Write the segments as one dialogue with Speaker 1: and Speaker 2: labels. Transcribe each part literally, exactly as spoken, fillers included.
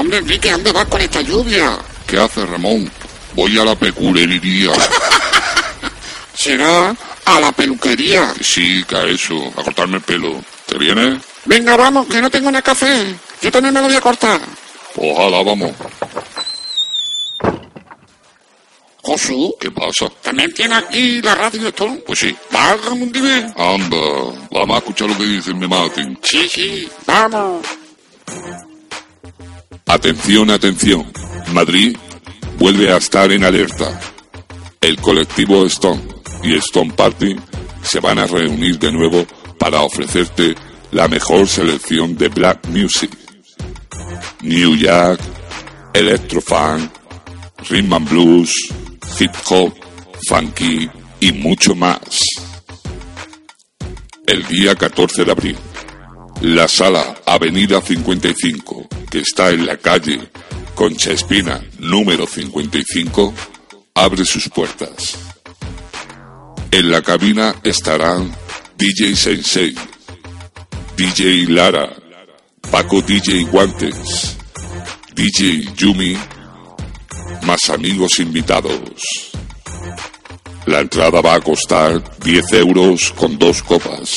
Speaker 1: Hombre, Enrique, ¿dónde vas con esta lluvia?
Speaker 2: ¿Qué haces, Ramón? Voy a la peculería.
Speaker 1: ¿Será a la peluquería?
Speaker 2: Sí, que a eso, a cortarme el pelo. ¿Te vienes?
Speaker 1: Venga, vamos, que no tengo nada café. Yo también me lo voy a cortar.
Speaker 2: Ojalá, vamos.
Speaker 1: Josu,
Speaker 2: ¿Qué pasa?
Speaker 1: ¿también tiene aquí la radio esto?
Speaker 2: Pues sí.
Speaker 1: Válgame un dime.
Speaker 2: Anda, vamos a escuchar lo que dicen, me maten.
Speaker 1: Sí, sí, vamos.
Speaker 2: Atención, atención. Madrid vuelve a estar en alerta. El colectivo Stone y Stone Party se van a reunir de nuevo para ofrecerte la mejor selección de black music. New Jack, Electrofunk, Rhythm and Blues, Hip Hop, Funky y mucho más. El día catorce de abril, la sala Avenida cincuenta y cinco, que está en la calle Concha Espina número cincuenta y cinco, abre sus puertas. En la cabina estarán D J Sensei, D J Lara, Paco D J Guantes, D J Yumi, más amigos invitados. La entrada va a costar diez euros con dos copas.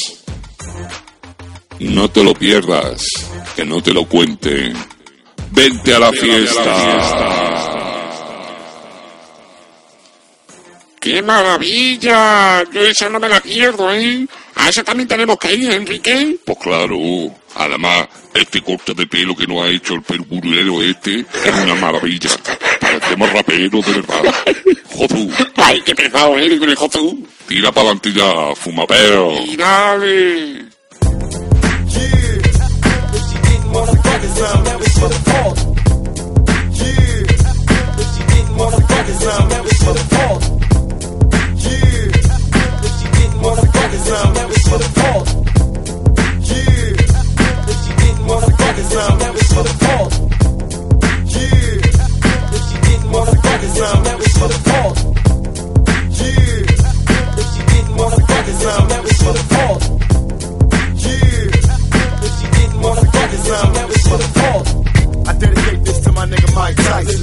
Speaker 2: No te lo pierdas, que no te lo cuenten. ¡Vente a la fiesta!
Speaker 1: ¡Qué maravilla! Yo esa no me la pierdo, ¿eh? A esa también tenemos que ir, Enrique.
Speaker 2: Pues claro, además, este corte de pelo que nos ha hecho el peluquero este es una maravilla. Parecemos raperos de verdad. Josu.
Speaker 1: ¡Ay, qué pesado eres con el Josu!
Speaker 2: Tira para adelante ya, fumapeo.
Speaker 1: ¡Tirale!
Speaker 3: I dedicate this to my nigga Mike Tyson.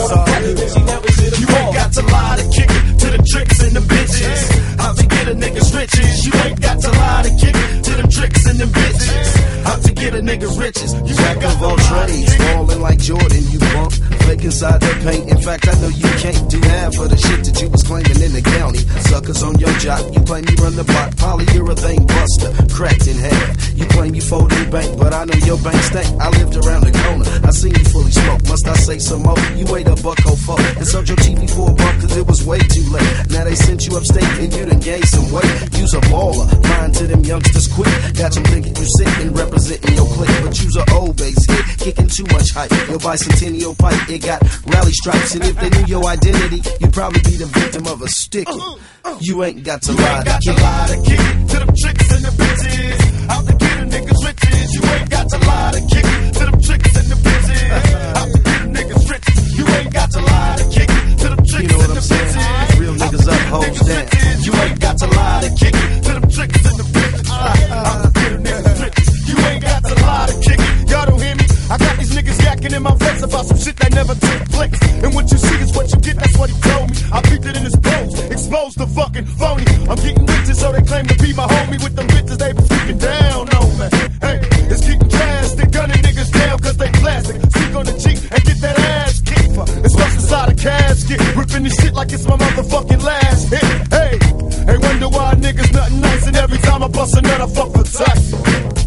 Speaker 3: You ain't got to lie to kick it to the tricks and the bitches. How to get a nigga's riches. You ain't got to lie to kick it to them tricks and them bitches. How to get a nigga's riches. You
Speaker 4: Jack of all trades, falling like Jordan, you bump, fake inside the paint. In fact, I know you can't do half of the shit that you was claiming in the county. Suckers on your job, you claim you run the block, polyurethane buster, cracked in half. You claim you fold in bank, but I know your bank stank. I lived around the corner, I seen you fully smoke. Must I say some more? You ate a buck oh four and sold your T V for a buck cause it was way too late. Now they sent you upstate and you done gained some weight. You's a baller, lying to them youngsters quick. Got them thinking you sick and representing your clique. But you's a old base hit, kicking too much hype. Your bicentennial pipe, it got rally stripes. And if they knew your identity, you'd probably be the victim of a sticky. You ain't got to lie to kick it
Speaker 3: to them tricks and the bitches. Out to get a nigga's riches. You ain't got to lie to kick it to them tricks and the bitches. Out to get a nigga's riches. You ain't got to lie to kick it to them tricks
Speaker 4: You know what
Speaker 3: and
Speaker 4: I'm
Speaker 3: the
Speaker 4: saying?
Speaker 3: bitches.
Speaker 4: Real niggas up, hoes down.
Speaker 3: You ain't got to lie to kick it to them tricks and the bitches. Out to get a nigga's riches. You ain't got to lie to kick it. Y'all don't hear me? I got these niggas yakking in my face about some shit that never took place. And what you see is what you get, that's what he told me. I peeped it in his pose, exposed the fucking phony. I'm getting riches, so they claim to be my homie. With them bitches, they be freaking down on me. Hey, it's getting drastic, gunning niggas down cause they plastic. Speak on the cheek and get that ass kicked. It's lost inside a casket, ripping this shit like it's my motherfucking last hit. Hey, hey, wonder why niggas nothing nice. And every time I bust a nut, I fuck with Tyson.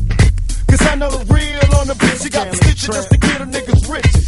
Speaker 3: Cause I know the real on the bitch, she got the stitches just to get a nigga's riches.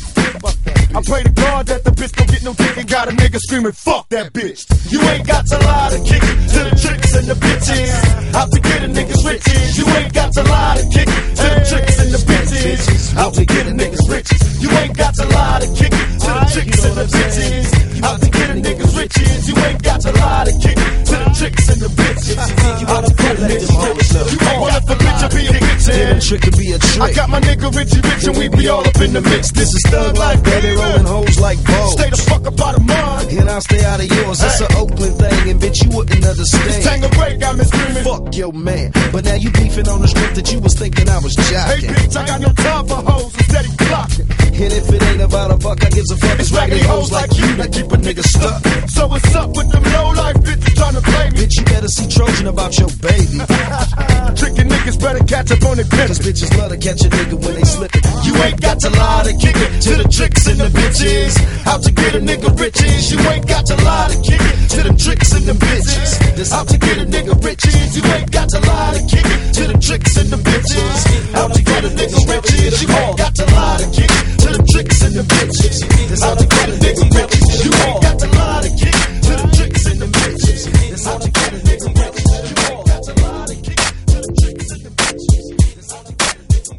Speaker 3: I pray to God that the bitch don't get no dick and got a nigga screaming, fuck that bitch. You ain't got to lie to kick it to the tricks and the bitches. Out to get a nigga's riches. You ain't got to lie to kick it to the tricks and the bitches. Out to get a nigga's riches. You ain't got to lie to kick it to the tricks and the bitches. Out to get a nigga's riches. You ain't got to lie to kick it to the tricks and the bitches. Out to get a nigga's riches. You ain't got to lie to kick it to the
Speaker 4: man. Trick could be a trick.
Speaker 3: I got my nigga Richie Rich and we be all up in the mix. This is thug life, baby.
Speaker 4: Rolling hoes like Vogue.
Speaker 3: Stay the fuck up out of mine.
Speaker 4: And I'll stay out of yours. That's an Oakland thing, and bitch, you wouldn't understand.
Speaker 3: Tangeray got me screaming.
Speaker 4: Fuck your man. But now you beefing on the strip that you was thinking I was jocking.
Speaker 3: Hey bitch, I got no time for hoes. I'm steady clocking.
Speaker 4: And if it ain't about a buck, I gives a fuck. It's raggedy hoes like you that keep a nigga stuck.
Speaker 3: So what's up with them low life bitches trying to play me?
Speaker 4: Bitch, you better see Trojan about your baby.
Speaker 3: Trickin' niggas better catch up on it,
Speaker 4: cause bitches love to catch a nigga when they slippin'.
Speaker 3: You ain't got to lie to kick it to the tricks and the bitches. How to get a nigga riches. You ain't got to lie to kick it to them tricks and them bitches. This how to get a nigga riches. You ain't got to lie to kick it to them tricks and them bitches. How to get a nigga riches. You ain't got to lie to kick it to them tricks and them bitches. This how to get a nigga riches. You ain't got to lie to kick it to them tricks and them bitches. This how to get a nigga riches. You ain't got to lie to kick it to them tricks and them bitches. This how to get a nigga riches.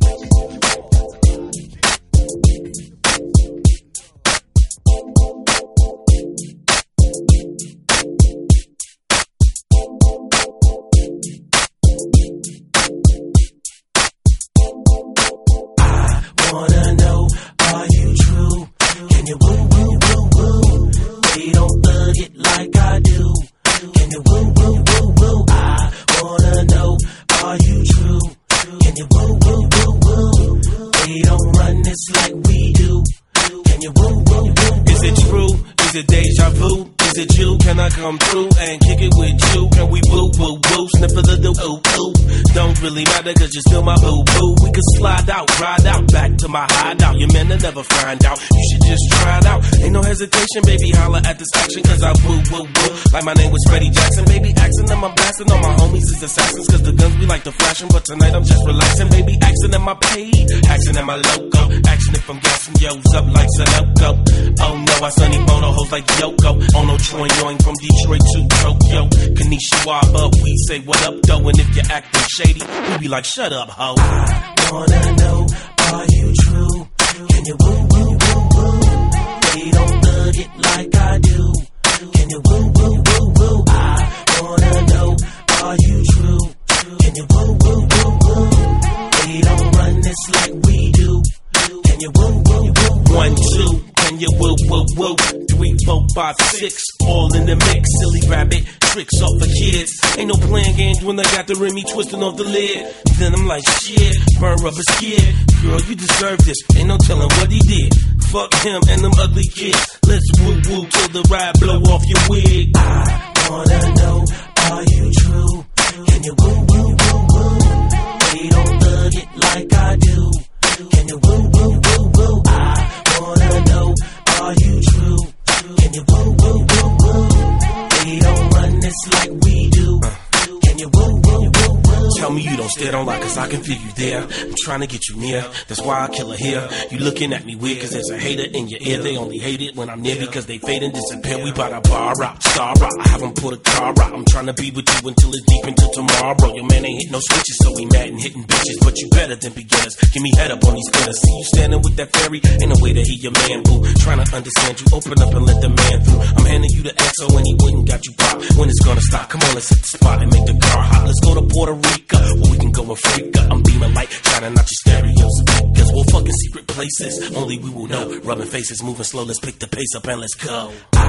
Speaker 5: Wanna know, are you true? Can you woo woo woo woo? They don't thug it like I do. Can you woo woo woo woo? I wanna know, are you true? Can you woo woo woo woo? They don't run this like we do. Can you woo woo woo? Is it true? Is it deja vu? Is it you? Can I come through and kick it with you? Can we woo woo woo? Snip a little ooh ooh. Don't really matter cause you're still my boo boo. We could slide out, ride out, back to my hideout. Your men will never find out. You should just try it out. Ain't no hesitation, baby, holla at this action cause I woo woo woo. Like my name was Freddie Jackson, baby, accent them I'm blasting. All my homies is assassins cause the guns be like the flashing. But tonight I'm just relaxing, baby, accent at my page, accent at my logo. Action if I'm gassing yo's up like Sunoco. Oh no, I sunny bono hoes like Yoko. Oh no, Troy Yoing from Detroit to Tokyo. Kanishiwa up, we say what up though. And if you're acting shady, we be like shut up ho. I wanna know, are you true? Can you woo woo woo woo? They don't thug it like I do. Can you woo woo woo woo? I wanna know, are you true? Can you woo woo woo woo? They don't run this like we do. Can you woo woo woo? One, two. Can you woo woo woo? Three, four, five, six, all in the mix. Silly rabbit, tricks off for kids. Ain't no playing games when I got the Remy twisting off the lid. Then I'm like, shit, burn rubber skid. Girl, you deserve this. Ain't no telling what he did. Fuck him and them ugly kids. Let's woo woo till the ride blow off your wig. I wanna know, are you true? Can you woo woo woo woo? They don't thug it like I do. Can you woo woo woo woo? I wanna know, are you true? Can you woo woo woo woo? They don't run this like we do. Can you woo woo woo woo? Tell me you don't stare, don't lie, cause I can feel you there. I'm trying to get you near, that's why I kill her here. You looking at me weird, cause there's a hater in your ear. They only hate it when I'm near, because they fade and disappear. We bout a bar out, star out, I haven't put a car out. I'm trying to be with you until it's deep into tomorrow. Your man ain't hit no switches, so he mad and hitting bitches. But you better than beginners, give me head up on these spinners. See you standing with that fairy, ain't no way to hear your man boo. Trying to understand you, open up and let the man through. I'm handing you the X O and he wouldn't got you pop. When it's gonna stop, come on, let's hit the spot and make the car hot. Let's go to Puerto Rico, where we can go and freak up. I'm beaming light, shining out your stereo speakers. We'll fucking secret places, only we will know. Rubbing faces, moving slow, let's pick the pace up and let's go.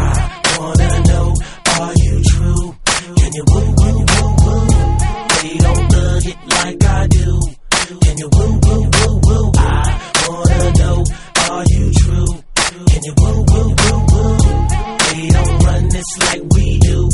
Speaker 5: I wanna know, are you true? Can you woo woo woo woo? They don't thug it like I do. Can you woo woo woo woo? I wanna know, are you true? Can you woo woo woo woo? They don't run this like we do.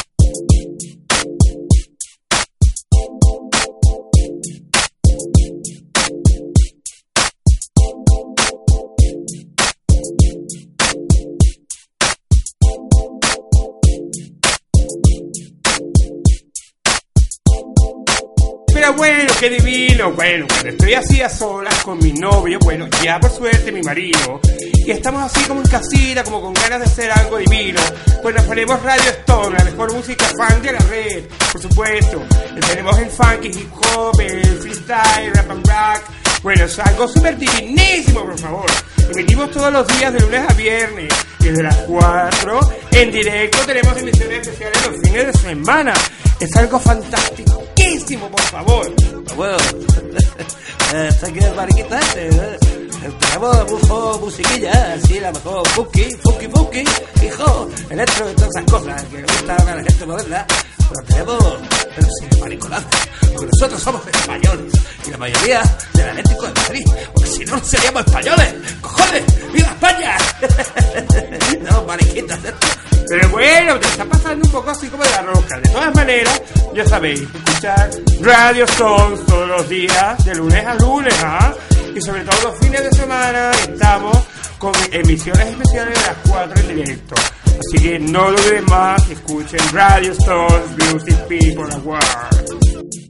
Speaker 6: Pero bueno, qué divino. Bueno, cuando estoy así a solas con mi novio, bueno, ya por suerte mi marido, y estamos así como en casita, como con ganas de hacer algo divino, pues nos ponemos Radio Stone, la mejor música funk de la red, por supuesto. Tenemos el funk, el hip hop, el freestyle, rap and rock. Bueno, es algo súper divinísimo, por favor. Emitimos todos los días de lunes a viernes, y desde las cuatro en directo tenemos emisiones especiales los fines de semana. Es algo fantástico, por favor.
Speaker 5: Well,
Speaker 7: Eh, está aquí el mariquita este, eh. Tenemos bufo, musiquilla, así la mejor, funky, funky, funky, hijo, electro y todas esas cosas que gustan a la gente moderna. Pero tenemos, pero sin mariconada, porque nosotros somos españoles y la mayoría del Atlético de Madrid, porque si no, no seríamos españoles. ¡Cojones! ¡Viva España! No, mariquitas, esto. Pero bueno, te está pasando un poco así como de la rosca. De todas maneras, ya sabéis, escuchar Radio Sons todos los días, de lunes a lunes, ¿ah? Y sobre todo los fines de semana estamos con emisiones especiales de las cuatro en directo. Así que no lo olviden más, escuchen Radio Stones Music People Award.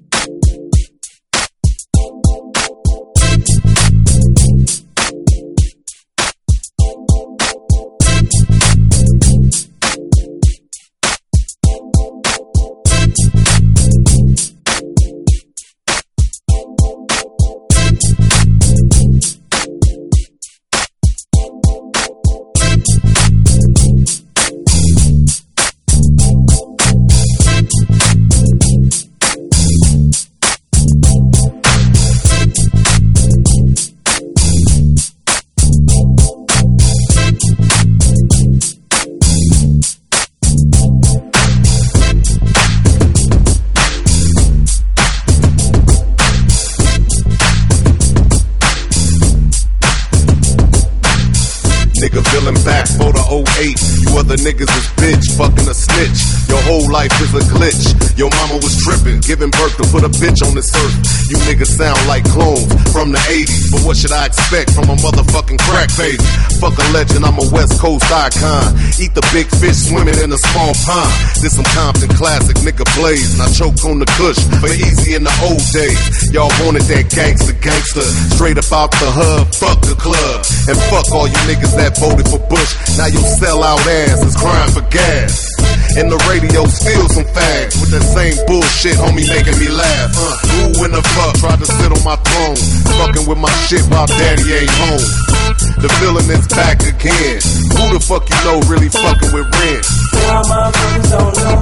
Speaker 8: Niggas is bitch, fucking a snitch. Your whole life is a glitch. Your mama was tripping, giving birth to put a bitch on this earth. You niggas sound like clones from the eighties, but what should I expect from a motherfucking crack baby? Fuck a legend, I'm a West Coast icon. Eat the big fish swimming in a small pond. This some Compton classic, nigga blaze, and I choke on the kush for easy in the old days. Y'all wanted that gangster gangster, straight up out the hub, fuck the club, and fuck all you niggas that voted for Bush. Now you sell out ass is crying for gas. And the radio steal some fags with that same bullshit, homie, making me laugh. Uh, who in the fuck tried to sit on my throne, fucking with my shit while daddy ain't home? The villain is back again. Who the fuck you know really fucking with Ren?
Speaker 5: All my friends don't know.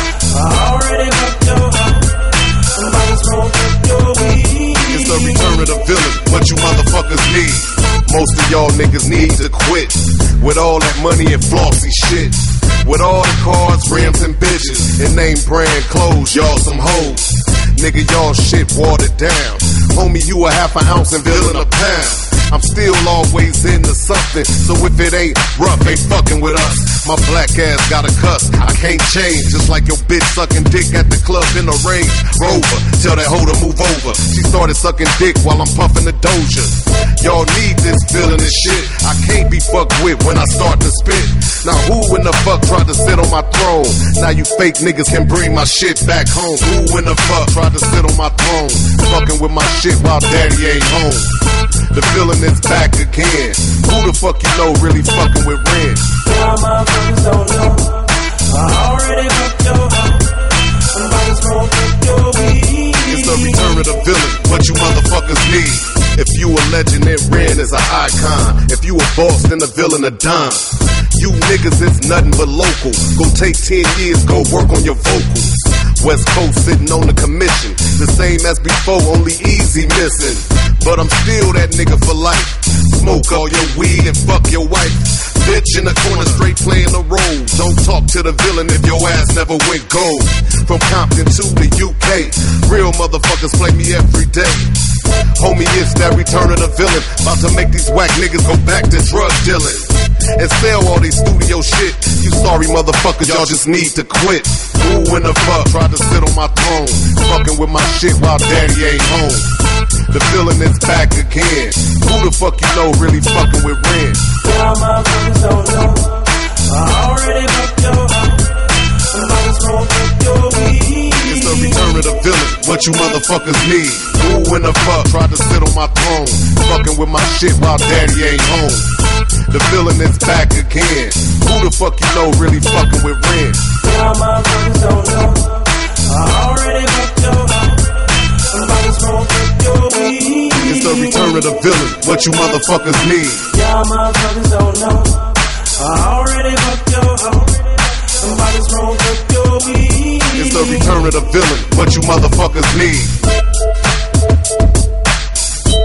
Speaker 5: I already booked your home. Somebody smoke your weed.
Speaker 8: It's the return of the villain. What you motherfuckers need? Most of y'all niggas need to quit with all that money and flossy shit. With all the cars, rims, and bitches, and name brand clothes, y'all some hoes. Nigga, y'all shit watered down. Homie, you a half an ounce and villain a pound. I'm still always into something, so if it ain't rough, ain't fucking with us. My black ass got a cuss, I can't change. Just like your bitch sucking dick at the club in the Range Rover. Tell that hoe to move over. She started sucking dick while I'm puffing the Doja. Y'all need this feeling and shit. I can't be fucked with when I start to spit. Now who in the fuck tried to sit on my throne? Now you fake niggas can bring my shit back home. Who in the fuck tried to sit on my throne? Fucking with my shit while daddy ain't home. The villain is back again. Who the fuck you know really fucking with Ren?
Speaker 5: All my friends don't know. I already booked your home. Somebody smoke your weed.
Speaker 8: It's the return of the villain. What you motherfuckers need? If you a legend, then Ren is an icon. If you a boss, then the villain a dime. You niggas is nothing but local. Go take ten years, go work on your vocals. West Coast sitting on the commission, the same as before, only easy missing. But I'm still that nigga for life. Smoke all your weed and fuck your wife. Bitch in the corner straight playing the role. Don't talk to the villain if your ass never went gold. From Compton to the U K, real motherfuckers play me every day. Homie, it's that return of the villain. About to make these whack niggas go back to drug dealing and sell all these studio shit. You sorry motherfuckers, y'all just need to quit. Who in the fuck tried to sit on my throne, fucking with my shit while daddy ain't home? The villain is back again. Who the fuck you know really fucking with Ren?
Speaker 5: All my friends don't know. I already booked your home. Somebody smoke your weed.
Speaker 8: It's the return of the villain. What you motherfuckers need? Who in the fuck tried to sit on my throne, fucking with my shit while daddy ain't home? The villain is back again. Who the fuck you know really fucking with Ren?
Speaker 5: All my friends don't know. I already booked your home. Somebody smoke your weed.
Speaker 8: It's the return of the villain. What you motherfuckers need?
Speaker 5: Y'all motherfuckers don't know. I already booked your home. Somebody smoke your weed.
Speaker 8: It's the return of the villain. What you motherfuckers need?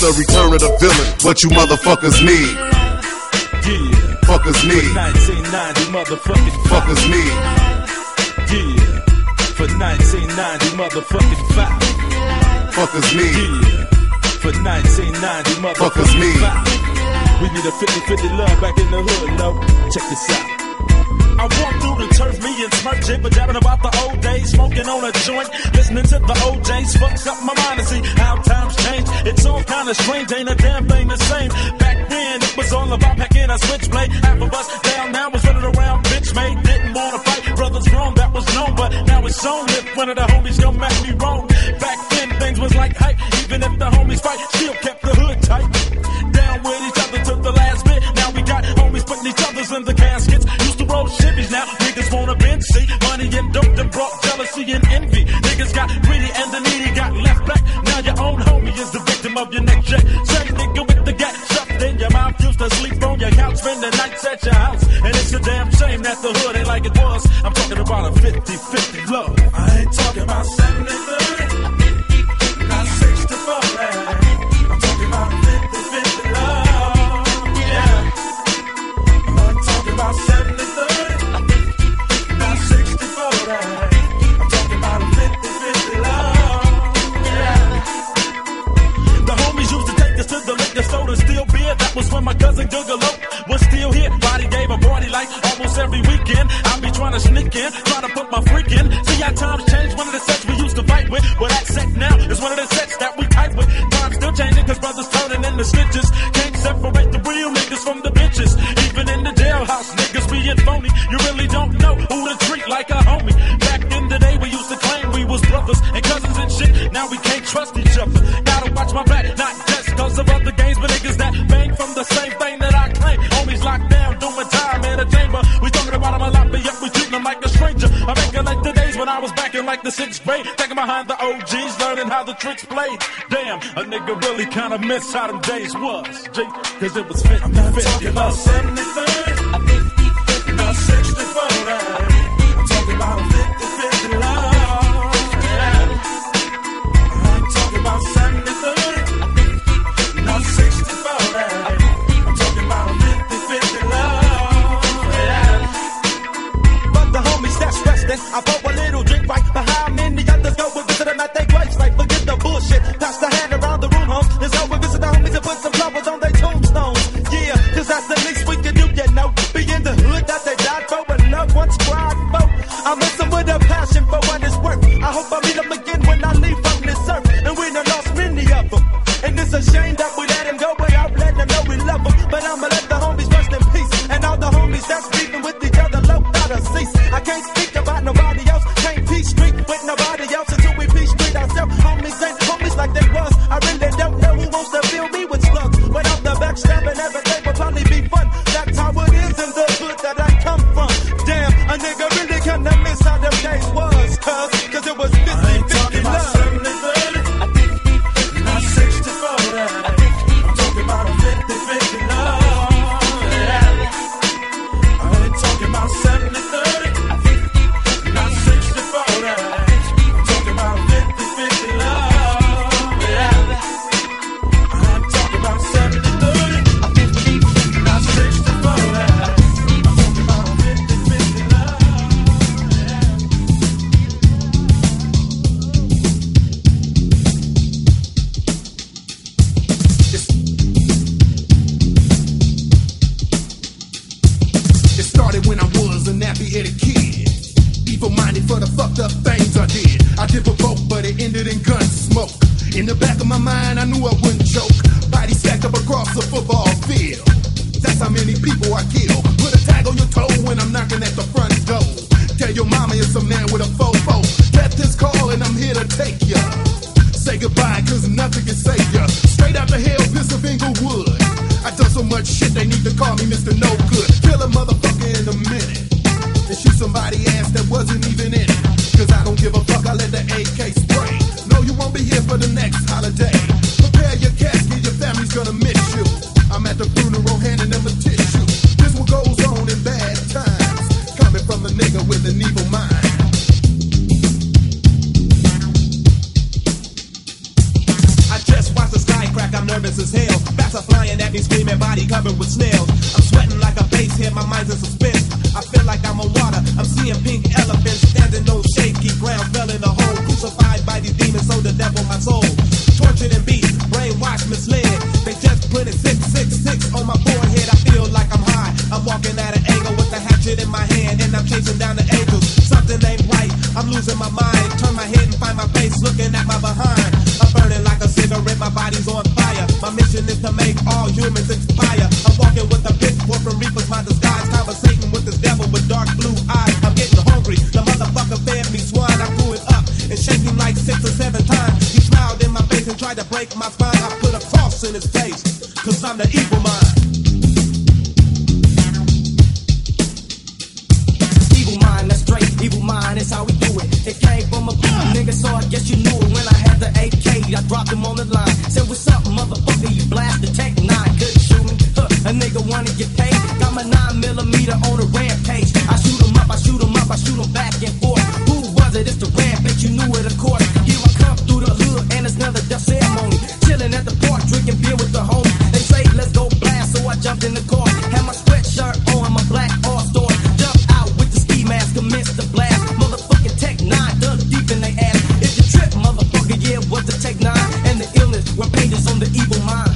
Speaker 8: the return of the villain. What you motherfuckers need?
Speaker 9: Yeah.
Speaker 8: Fuckers need.
Speaker 9: nineteen ninety motherfucking
Speaker 8: Fuckers need.
Speaker 9: Yeah. For nineteen ninety motherfucking five.
Speaker 8: Fuckers need.
Speaker 9: Yeah. For nineteen ninety
Speaker 8: Fuckers
Speaker 9: motherfucking
Speaker 8: need.
Speaker 9: five. We need a fifty fifty love back in the hood, no. Check this out. I walk through the turf, me and Smurf jibber jabbing about the old days, smoking on a joint, listening to the O Js, fucks up my mind to see how times change. It's all kinda strange, ain't a damn thing the same. Back then, it was all about packing a switchblade. Half of us down now was running around, bitch made, didn't wanna fight. Brothers grown, that was known, but now it's on if one of the homies come at me wrong. Back then, things was like hype, even if the homies fight, still kept the hood tight. Down with each other to the last bit. Now we got homies putting each other's in the caskets. Used to roll shivvies, now niggas wanna bench seat. Money and dope that brought jealousy and envy. Niggas got greedy and the needy got left back. Now your own homie is the victim of your next check. Same nigga with the gat shoved in your mouth. Used to sleep on your couch, spend the nights at your house. And it's a damn shame that the hood ain't like it was. I'm talking about a fifty fifty love. I ain't talking about seventy thirty, not sixty forty. I'm talking about fifty fifty love. Yeah. I'm talking about seventy thirty, not sixty forty. I'm talking about a fifty fifty love. Yeah. The homies used to take us to the liquor store to steal beer. That was when my cousin Googalo was still here. Body gave a party like almost every weekend. I be trying to sneak in, trying to put my freak in. See how times change. One of the sets we used to fight with, well that set now is one of the sets that we type with. Times still changing cause brothers turning into snitches. Can't separate the real niggas from the bitches. Even in the jailhouse, niggas being phony. You really don't know who to treat like a homie. Back in the day we used to claim we was brothers and cousins and shit. Now we can't trust each other. Gotta watch my back, not just cause of other games, but niggas that bang from the same thing that I claim. Homies locked down, doing time in a chamber. We talking about them a lot, but yet we treating them like a stranger. I recollect the days when I was back in like the sixth grade, taking behind the O Gs, learning how the tricks played. Damn, a nigga really kinda miss how them days was, G, cause it was fifty fifty. I'm not talking about seventy thirty, not sixty forty. I'm talking about fifty fifty love. Yeah. I ain't talking about seventy thirty, not sixty forty. I'm talking about fifty fifty love. Yeah. But the homies that's resting, I pour a little drink right behind many others go and visit them at their graves. Like forget the bullshit, pass the hand around the room, homes. Let's go and visit the homies and put some flowers on their tombstones. Yeah, cause that's the least we can do, you know. Be in the hood that they died for and loved ones cried for. I miss them with a passion for what it's worth. I hope I meet them again when I leave from this earth. And we done lost many of them. And it's a shame that we let them go without letting them know we love them. But I'ma let the homies rest in peace. And all the homies that's beefing with each other low out of cease. I can't speak about nobody else. Can't peace street with nobody else until we peace street ourselves. Homies ain't homies like they was. I really don't know who wants to fill me with slugs. Without the backstabbing, everything will probably be fun. That's how it is in the hood that I come from. Damn, a nigga really kinda miss how them days was. Cause, cause it was fifty fifty love. seventy thirty, not sixty forty. I'm talking about a fifty fifty love. I ain't talking about seventy thirty, not sixty forty. I'm talking about fifty fifty love. I'm talking about seventy thirty, not sixty forty. I'm talking about fifty fifty love.
Speaker 3: It started when I was a nappy-headed kid, evil-minded for the fucked up things I did. I did provoke, but it ended in gun smoke. In the back of my mind, I knew I wouldn't choke. Body stacked up across the football field. That's how many people I kill. Put a tag on your toe when I'm knocking at the front door. Tell your mama it's a man with a fofo. Get this call and I'm here to take ya. Say goodbye, cause nothing can save ya. Straight out the hell, piss of Inglewood. I done so much shit, they need to call me Mister No Good. Kill a motherfucker in a minute and shoot somebody ass that wasn't even in it. Cause I don't give a fuck, I let the A K spray. No, you won't be here for the next holiday. Prepare your casket, your family's gonna miss you. I'm at the funeral handing them a tissue. This what goes on in bad times. as hell. Bats are flying at me, screaming, body covered with snails. I'm sweating like a bass head, my mind's in suspense. I feel like I'm on water, I'm seeing pink elephants standing on shaky ground, fell in a hole. Crucified by these demons, so the devil my soul. Tortured and beat, brainwashed, misled. They just put it six six six on my forehead. I feel like I'm high. I'm walking at an angle with a hatchet in my hand, and I'm chasing down the angels. Something ain't right, I'm losing my mind. Turn my head and find my face looking at my behind. I'm burning like a cigarette, my body's on fire. My mission is to make all humans expire. I'm walking with a pitchfork from reapers, my disguise. Conversating with this devil with dark blue eyes. I'm getting hungry, the motherfucker fed me swine. I grew it up and shaking him like six or seven times. He smiled in my face and tried to break my spine. I put a cross in his face, cause I'm the evil mind. Evil mind, that's straight, evil mind, that's how we do it. It came from a nigga, so I guess you knew it. When I had the A K, I dropped him on the line. Said, what's up, motherfucker, you blast the tech nine. Couldn't shoot me, huh, a nigga wanna get paid. Got my nine millimeter on a rampage. I shoot him up, I shoot him up, I shoot him back and forth. Who was it? It's the rampage, you knew it, of course. Here I come through the hood, and it's another death ceremony. Chilling at the park, drinking beer with the homies. They say, let's go blast, so I jumped in the car. Had my sweatshirt on, my black all-star. Jumped out with the ski mask, commenced the blast. Motherfucking Tech nine, dug deep in they ass. If you trip, motherfucker, yeah, it was the Tech nine. And the illness, were pages on the evil mind.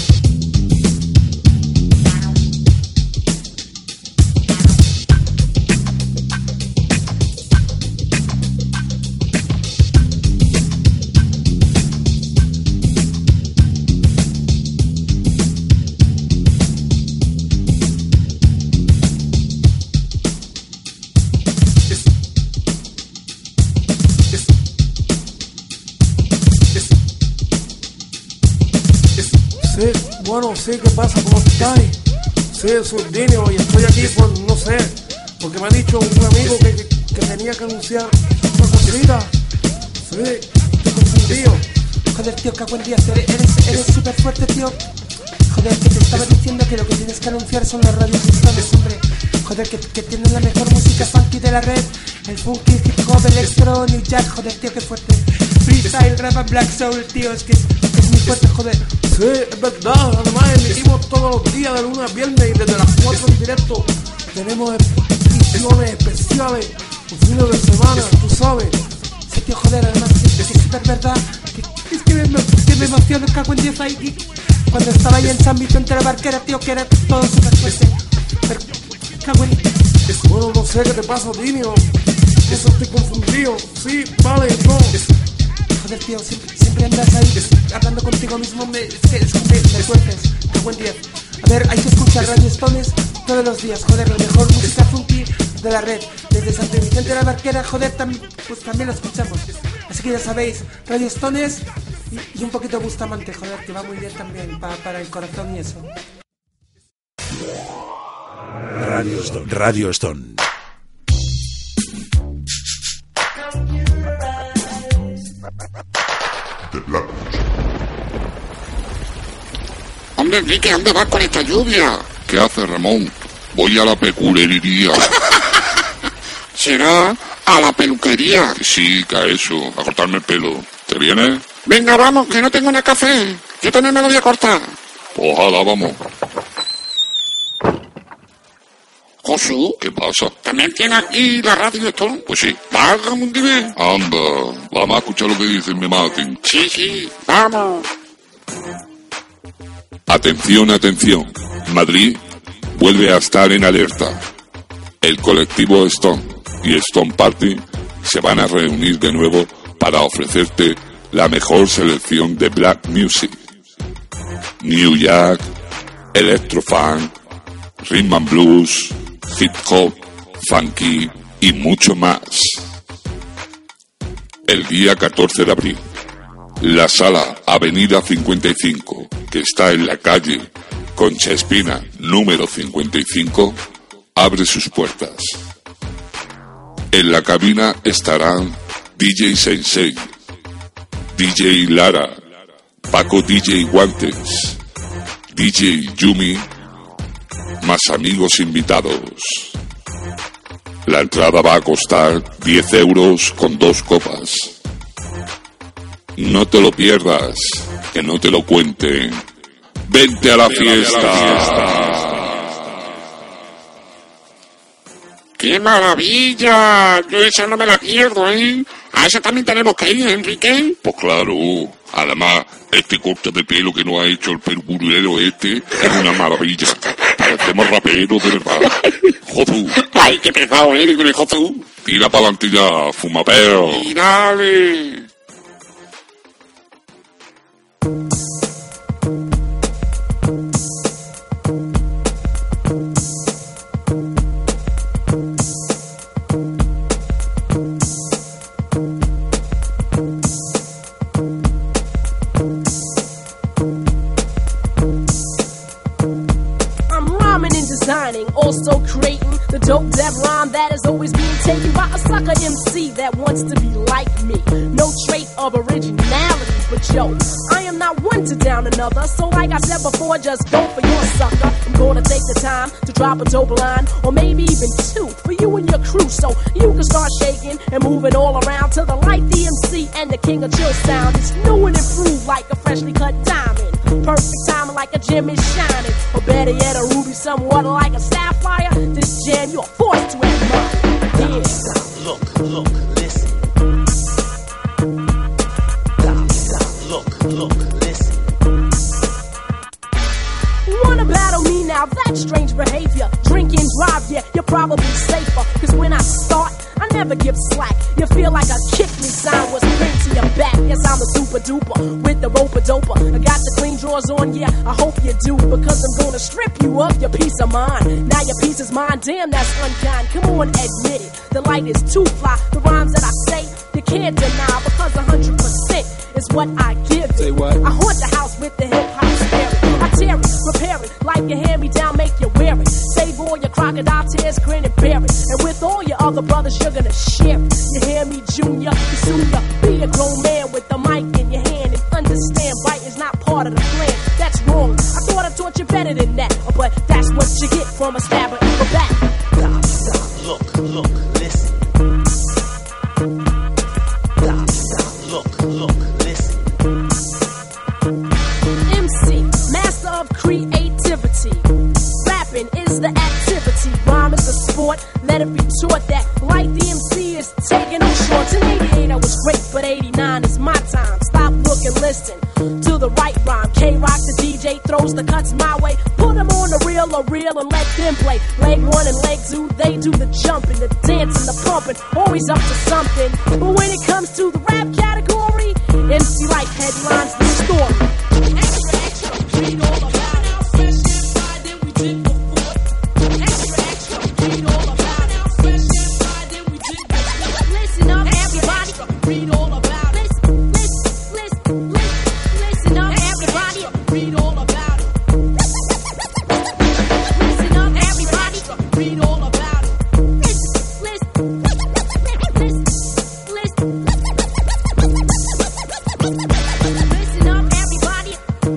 Speaker 10: Bueno, sí, ¿qué pasa? ¿Cómo estáis? Sí, soy Dinio y estoy aquí por, no sé, porque me ha dicho un amigo que, que, que tenía que anunciar una cosita. Sí, estoy confundido.
Speaker 11: Joder, tío, qué buen día, eres, eres, eres súper fuerte, tío. Joder, que te estaba diciendo que lo que tienes que anunciar son las radios hispanas, hombre. Joder, que, que tienen la mejor música funky de la red. El funky, hip hop, electro, new jack, joder, tío, qué fuerte. Freestyle, rap and black soul, tío, es que es, es muy fuerte, joder.
Speaker 10: Sí, es verdad, además emitimos todos los días de lunes a viernes y desde las cuatro en directo. Tenemos ediciones especiales, los fines de semana, tú sabes.
Speaker 11: Sí, tío, joder, además es, es súper verdad. Que, es que me, que me emociono, cago en diez ahí. Cuando estaba ahí en San Vicente de la Barquera, tío, que era todo súper fuerte. Pero, cago en...
Speaker 10: Bueno, no sé qué te pasa, Dinio. Eso estoy confundido. Sí, vale, no.
Speaker 11: Joder, tío, siempre, siempre andas ahí hablando contigo mismo, me, es que, es que me, me sueltes, qué buen día. A ver, hay que escuchar Radio Stones todos los días, joder, la mejor música funky de la red. Desde San Vicente de la Barquera, joder, tam, pues también lo escuchamos. Así que ya sabéis, Radio Stones y, y un poquito Bustamante, joder, que va muy bien también pa, para el corazón y eso.
Speaker 12: Radio Stone. Radio Stone.
Speaker 1: Hombre, Enrique, ¿dónde vas con esta lluvia?
Speaker 2: ¿Qué hace, Ramón? Voy a la peculería.
Speaker 1: ¿Será a la peluquería?
Speaker 2: Sí, que a eso, a cortarme el pelo. ¿Te vienes?
Speaker 1: Venga, vamos, que no tengo nada café. Yo también me lo voy a cortar.
Speaker 2: Ojalá, vamos.
Speaker 1: Josu,
Speaker 2: ¿qué pasa?
Speaker 1: ¿También tiene aquí la radio esto?
Speaker 2: Pues sí.
Speaker 1: Válgame un dime.
Speaker 2: Anda, vamos a escuchar lo que dicen, me maten.
Speaker 1: Sí, sí, vamos.
Speaker 2: Atención, atención. Madrid vuelve a estar en alerta. El colectivo Stone y Stone Party se van a reunir de nuevo para ofrecerte la mejor selección de black music. New Jack, Electrofunk, Rhythm and Blues, Hip Hop, Funky y mucho más. El día catorce de abril, la sala Avenida cincuenta y cinco, que está en la calle Concha Espina número cincuenta y cinco, abre sus puertas. En la cabina estarán D J Sensei, D J Lara, Paco D J Guantes, D J Yumi, más amigos invitados. La entrada va a costar diez euros con dos copas. No te lo pierdas, que no te lo cuenten. Vente a la fiesta.
Speaker 1: ¡Qué maravilla! Yo esa no me la pierdo, ¿eh? ¿A esa también tenemos que ir, Enrique?
Speaker 2: Pues claro. Además, este corte de pelo que nos ha hecho el perburero este es una maravilla. Parecemos raperos de verdad. Josu.
Speaker 1: ¡Ay, qué pesado eres con el Josu!
Speaker 2: Tira para adelante ya, fumapeo.
Speaker 1: ¡Y dale!
Speaker 13: Also creating the dope that rhyme that is always being taken by a sucker M C that wants to be like me. No trait of originality, but yo, I am not one to down another. So like I said before, just go for your sucker. I'm gonna take the time to drop a dope line, or maybe even two, for you and your crew, so you can start shaking and moving all around to the Light the M C and the King of Chill sound. It's new and improved like a freshly cut diamond. Perfect timing like a gem is shining, or better yet, a ruby somewhat like a sapphire. This jam you're forced to admire. Yeah.
Speaker 5: Stop, look, look, listen. Stop, stop, look, look, listen.
Speaker 13: Wanna battle me now? That's strange behavior. Drink and drive, yeah, you're probably safer. Cause when I start, I never give slack. You feel like a kick me sign was pinned to your back. Yes, I'm a super duper with the roper doper. I got the clean drawers on, yeah, I hope you do. Because I'm gonna strip you of your peace of mind. Now your peace is mine, damn, that's unkind. Come on, admit it, the light is too fly. The rhymes that I say, you can't deny. Because one hundred percent is what I give it.
Speaker 14: Say what?
Speaker 13: I haunt the house with the hip-hop spirit. I tear it, repair it, like your hand-me-down, make you wear it. Save all your crocodile tears, grin and bear it. And with all your other brothers, you're gonna share it. You hear me, Junior? You sooner be a grown man with the mic in your hand and understand right is not part of the plan. That's wrong. I thought I taught you better than that, but that's what you get from a stabber in the back.
Speaker 5: Stop, stop, look, look, listen. Stop, stop, look, look, listen.
Speaker 13: M C, master of creativity. Rapping is the activity. Rhyme is a sport. Let it be taught that like the M C is taking no shorts. In eighty-eight I was great, but eighty-nine is my time. Stop, look, and listen to the right rhyme. K-Rock, the D J, throws the cuts my way. Put them on the reel or reel and let them play. Leg one and leg two, they do the jumping, the dancing, the pumping. Always up to something. But when it comes to the rap category, M C Life headlines the story. Extra, extra, read all about how fresh and fly than we did before. Extra, extra, read all about how fresh and fly than we did before. Listen up, everybody, read all about it. Listen, listen, listen, listen, listen up, everybody, read all about it. Listen up, everybody, read all about it. Listen, listen, listen, listen, listen up, everybody.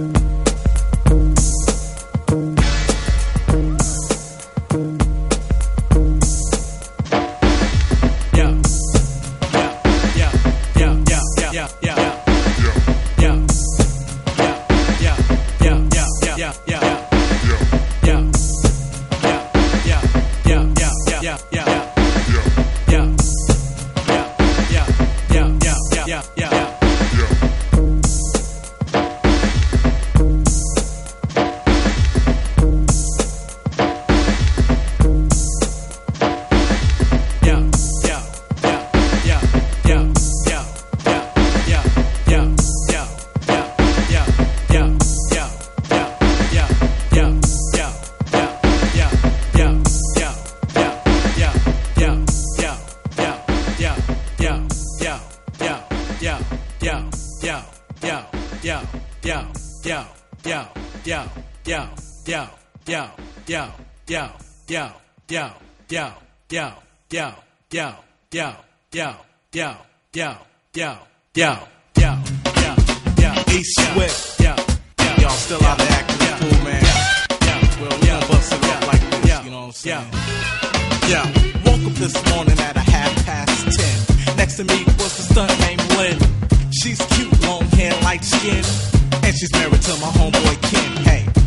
Speaker 15: East Swift, y'all still out there acting the fool, man. Well, we gon' bust it up like this, you know what I'm saying? Yeah, woke up this morning at a half past ten. Next to me was the stunt named Lynn. She's cute, long hair, light skin, and she's married to my homeboy Ken. Hey,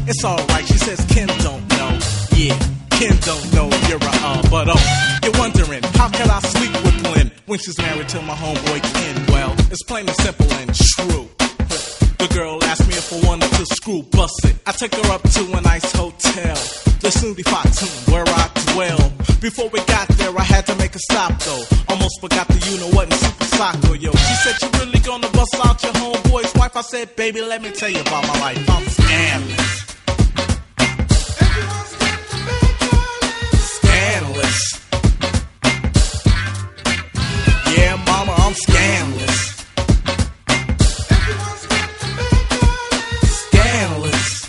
Speaker 15: it's alright. She says Ken don't know. Yeah, Ken don't know you're a uh, but oh, you're wondering how can I sleep with Lynn when she's married to my homeboy Ken? Well, it's plain and simple and true. The girl asked me if I wanted to screw bust it. I took her up to a nice hotel, the Snooty Fox, where I dwell. Before we got there, I had to make a stop though. Almost forgot the you know what in Super Soccer, yo. She said, "You really gonna bust out your homeboy's wife?" I said, "Baby, let me tell you about my life. I'm scandalous." Scandalous. Yeah, mama, I'm scandalous. Scandalous.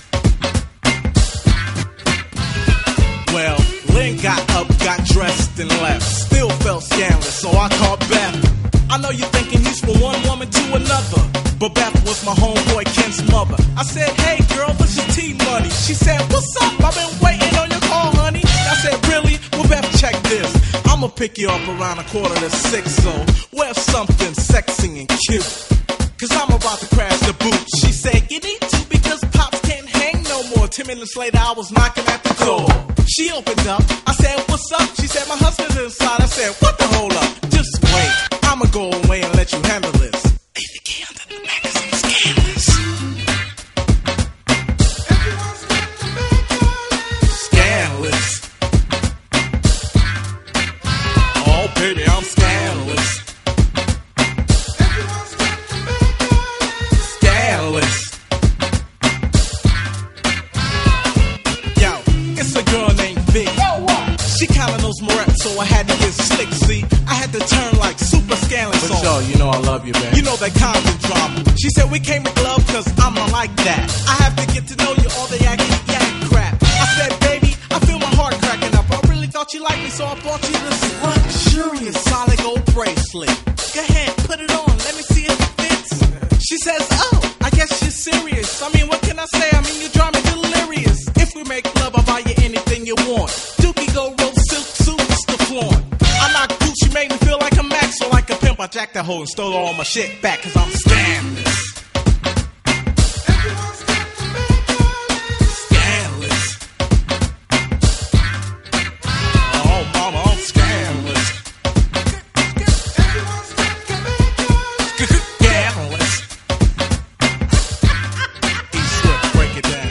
Speaker 15: Well, Lynn got up, got dressed, and left. Still felt scandalous, so I called Beth. I know you're thinking he's from one woman to another, but Beth was my homeboy Ken's mother. I said, "Hey girl, what's your tea money?" She said, "What's up? I've been waiting on your call, honey." I said, "Really? Well, Beth, check this. I'ma pick you up around a quarter to six, so wear something sexy and cute, cause I'm about to crash the boot." She said, "You need to because Pops can't hang no more." Ten minutes later, I was knocking at the door. She opened up. I said, "What's up?" She said, "My husband's inside." I said, "What the hold up? Just wait. I'ma go away and let you handle this." A the key under the magazine scandalous. Scandalous. Oh, baby, I'm scandalous. Scandalous. Yo, it's a girl named Vic. She kinda knows Moret, so I had to get slick, see? I had to turn like super scandalous on.
Speaker 14: Yo, you know I love you, man.
Speaker 15: You know that kind of drama. She said we came to love cause I'm not like that. I have to get to know you, all the yakety yak crap. I said, "Baby, I feel my heart cracking up. I really thought you liked me, so I bought you this luxurious solid gold bracelet. Go ahead, put it on, let me see if it fits." She says, "Oh, I guess you're serious. I mean, what can I say? I mean, you drive me delirious. If we make love, I'll buy you anything you want. Dookie go roll silk suits to flaunt. I knock Gucci, made me feel like a max or like a pimp. I jacked that hoe and stole all my shit back cause I'm scandalous." Scandalous. Oh, mama, I'm scandalous. Scandalous. East Swift, break it down.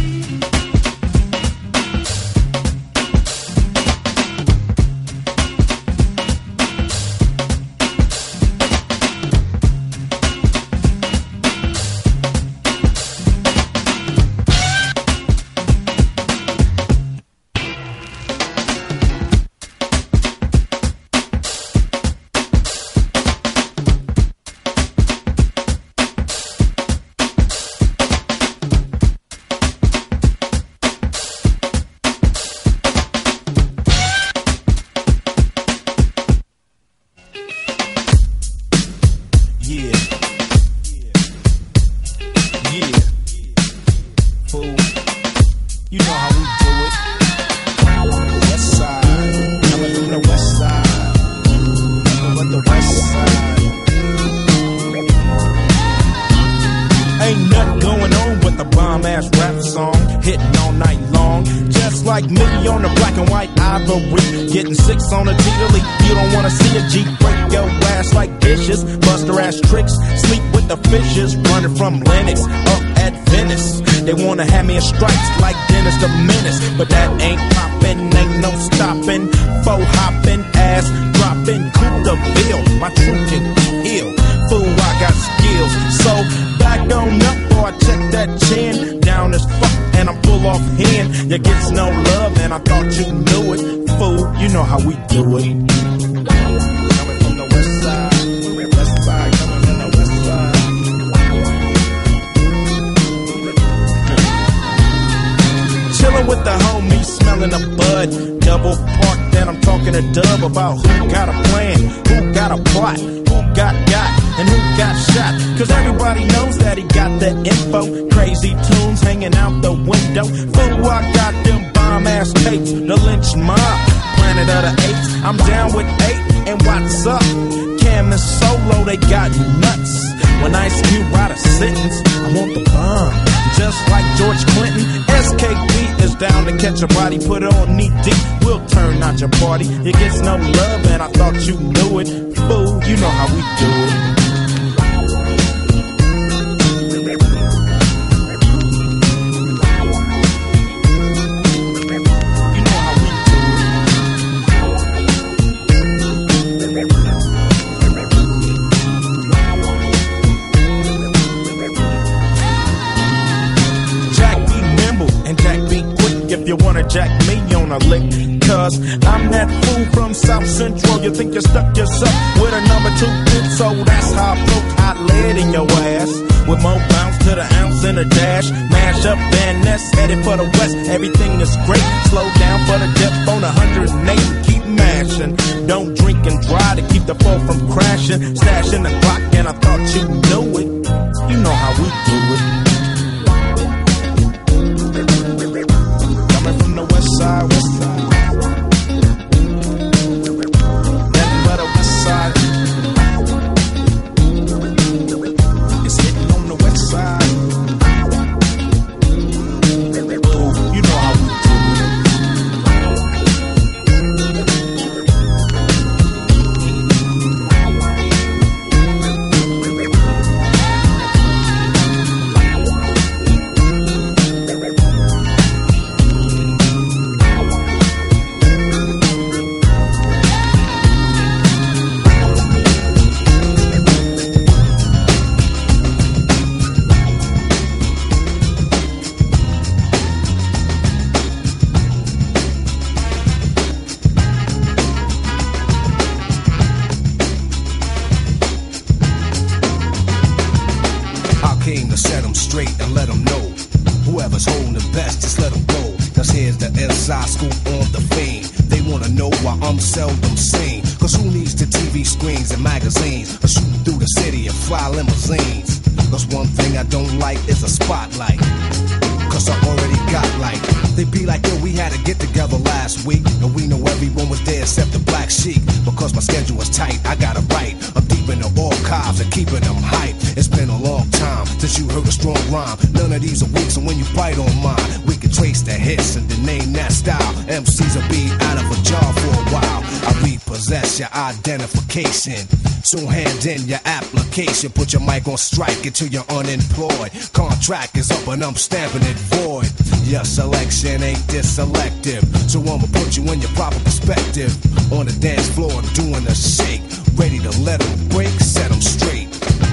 Speaker 16: Like me on the black and white ivory, getting six on a T-Lily. You don't wanna see a G break your ass like dishes, bust her ass tricks, sleep with the fishes, running from Lennox up at Venice. They wanna have me in stripes like Dennis the Menace, but that ain't poppin', ain't no stopping. Faux hopping, ass dropping, cool the bill. My truth can heal, fool, I got skills. So back on up, boy, check that chin, down as fuck, and I'm full off hand. You gets no love, and I thought you knew it, fool. You know how we do it. Coming from the west side, west side, coming from the west side. Chilling with the homies, smelling a bud. Double park, then I'm talking to Dub about who got a plan, who got a plot, who got got, and who got shot. Cause everybody knows that he got the info. Crazy tunes hanging out the window. Fool, I got them bomb ass tapes. The lynch mob, planet of the apes. I'm down with eight, and what's up? Cam and Solo, they got nuts. When Ice Cube write a sentence, I want the bomb. Just like George Clinton, S K B is down to catch a body, put on knee deep. We'll turn out your party. It gets no love, and I thought you knew it. Fool, you know how we do it. If you wanna jack me on a lick, cause I'm that fool from South Central. You think you stuck yourself with a number two fit, so that's how I poke hot lead in your ass. With more bounce to the ounce and a dash. Mash up Van Ness, headed for the west. Everything is great. Slow down for the depth on one hundred eight. Keep mashing. Don't drink and drive to keep the fall from crashing. Stash in the clock and I thought you knew it. You know how we do it. From the west side, west side. Nothing but a west side. It's hitting on the west side. Ooh, you know how we seldom seen. Cause who needs the T V screens and magazines? Or shooting through the city and fly limousines? Cause one thing I don't like is a spotlight. Cause I already got like. They be like, yo, we had to get together last week. And we know everyone was there except the Black Sheep. Because my schedule was tight, I gotta write. I'm deep in the archives and keeping them hype. It's been a long time since you heard a strong rhyme. None of these are weak, so when you bite on mine, we can trace the hits and the name that style. M Cs will be out of a job for a while. I repossess your identification. So hand in your application. Put your mic on strike until you're unemployed. Contract is up and I'm stamping it void. Your selection ain't this selective. So I'ma put you in your proper perspective. On the dance floor, I'm doing a shake. Ready to let them break, set them straight.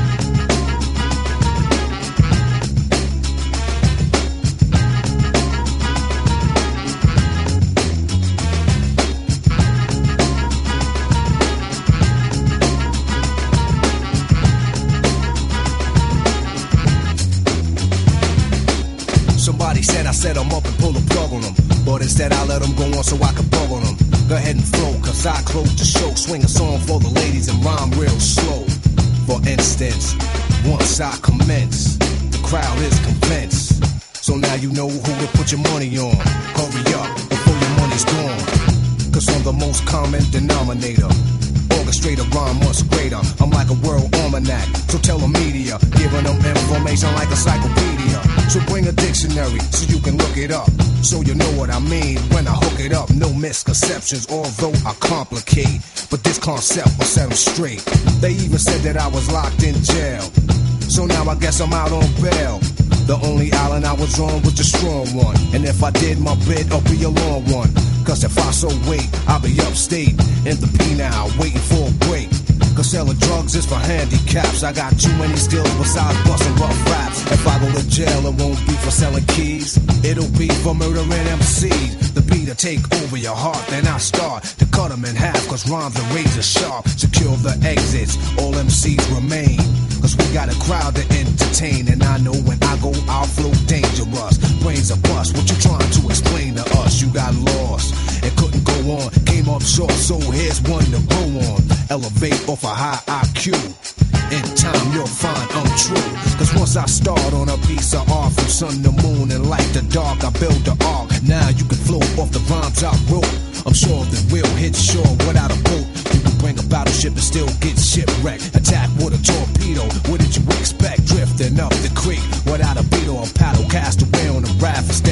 Speaker 16: Somebody said I set them up and pull the plug on them. But instead I let them go on so I could bug on them. Go ahead and flow, cause I close the show. Swing a song for the ladies and rhyme real slow. For instance, once I commence, the crowd is convinced. So now you know who to put your money on. Hurry up before your money's gone. Cause I'm the most common denominator. Orchestrator, rhyme much greater. I'm like a world almanac. So tell the media, giving them information like a encyclopedia. So bring a dictionary so you can look it up. So you know what I mean when I hook it up. No misconceptions, although I complicate. But this concept will set them straight. They even said that I was locked in jail. So now I guess I'm out on bail. The only island I was on was the strong one. And if I did my bid, I'll be a long one. Cause if I so wait, I'll be upstate in the penal, waiting for a break. Cause selling drugs is for handicaps. I got too many skills besides busting rough raps. If I go to jail, it won't be for selling keys. It'll be for murdering M Cs. The beat to take over your heart, then I start to cut them in half. Cause rhymes are razor sharp. Secure the exits, all M Cs remain. Cause we got a crowd to entertain. And I know when I go, I'll flow dangerous. Brains are bust, what you trying to explain to us? You got lost, it couldn't go on. Came up short, so here's one to go on. Elevate off a high I Q. In time you'll find I'm true. Cause once I start on a piece of art, from sun to moon and light to dark, I build the arc. Now you can float off the rhymes I wrote. I'm sure that we'll hit shore without a boat. You can bring a battleship and still get shipwrecked. Attack with a torpedo, what did you expect? Drifting up the creek without a beetle or paddle. Cast away on a raft and stand fragile.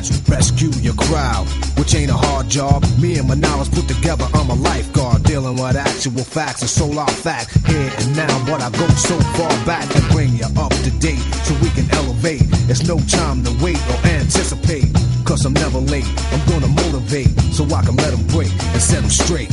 Speaker 4: task, rescue your crowd, which ain't a hard job. Me and my knowledge put together, I'm a lifeguard, dealing with actual facts and solar facts here and now. But I go so far back and bring you up to date so we can elevate. It's no time to wait or anticipate, cause I'm never late. I'm gonna motivate so I can let them break and set them straight.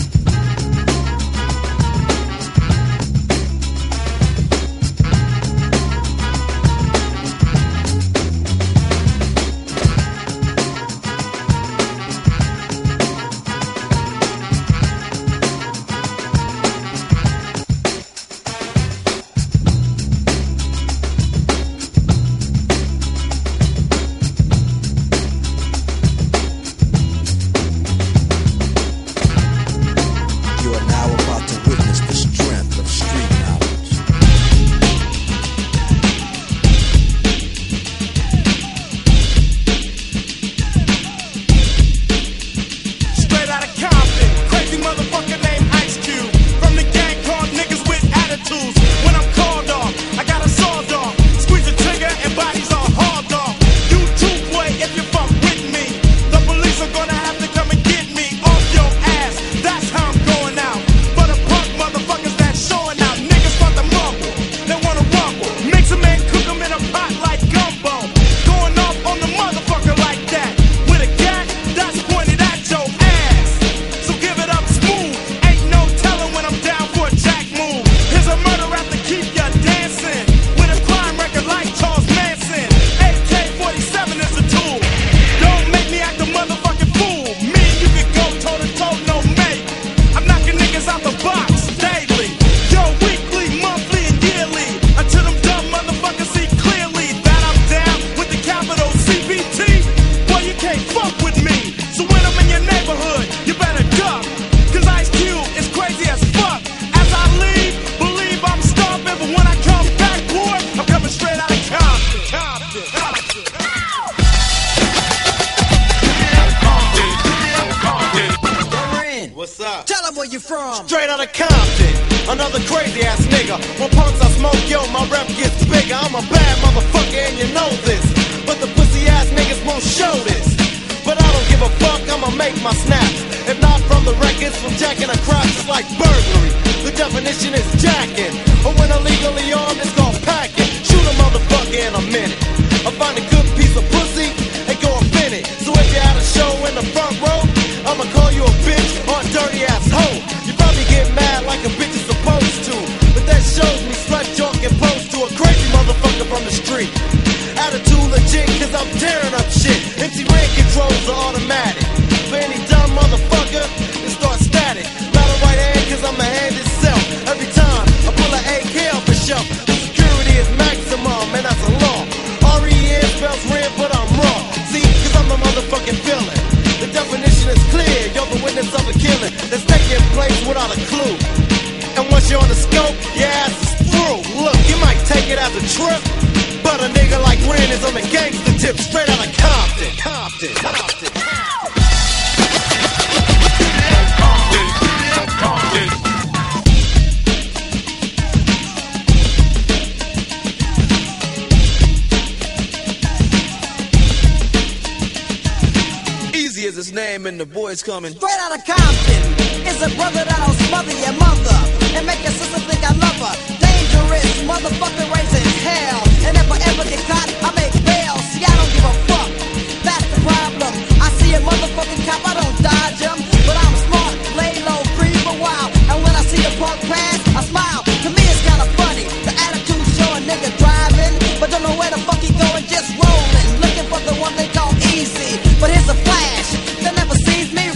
Speaker 14: Coming straight out of Compton. It's a brother that'll smother your mother and make your sister think I love her. Dangerous motherfucker raising hell. And if I ever get caught, I make bail. See, I don't give a fuck. That's the problem. I see a motherfucking cop, I don't dodge him, but I'm smart, lay low, breathe a while. And when I see a punk pass, I smile. To me, it's kinda funny. The attitude show a nigga driving, but don't know where the fuck he going, just rolling, looking for the one they call easy. But here's a flash. They never sees me.